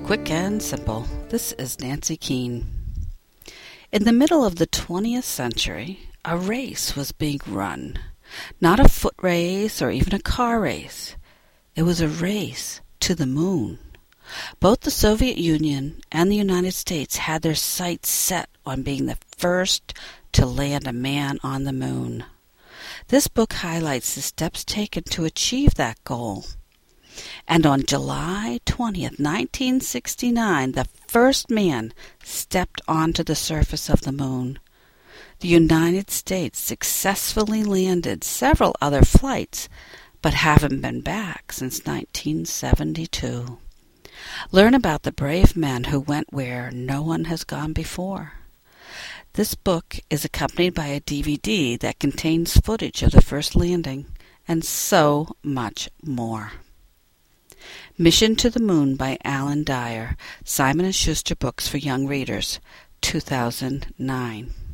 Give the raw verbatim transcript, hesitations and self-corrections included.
Quick and simple. This is Nancy Keene. In the middle of the twentieth century, a race was being run. Not a foot race or even a car race. It was a race to the moon. Both the Soviet Union and the United States had their sights set on being the first to land a man on the moon. This book highlights the steps taken to achieve that goal. And on July twentieth, nineteen sixty-nine, the first man stepped onto the surface of the moon. The United States successfully landed several other flights, but haven't been back since nineteen seventy-two. Learn about the brave men who went where no one has gone before. This book is accompanied by a D V D that contains footage of the first landing, and so much more. Mission to the Moon by Alan Dyer, Simon and Schuster Books for Young Readers, two thousand nine.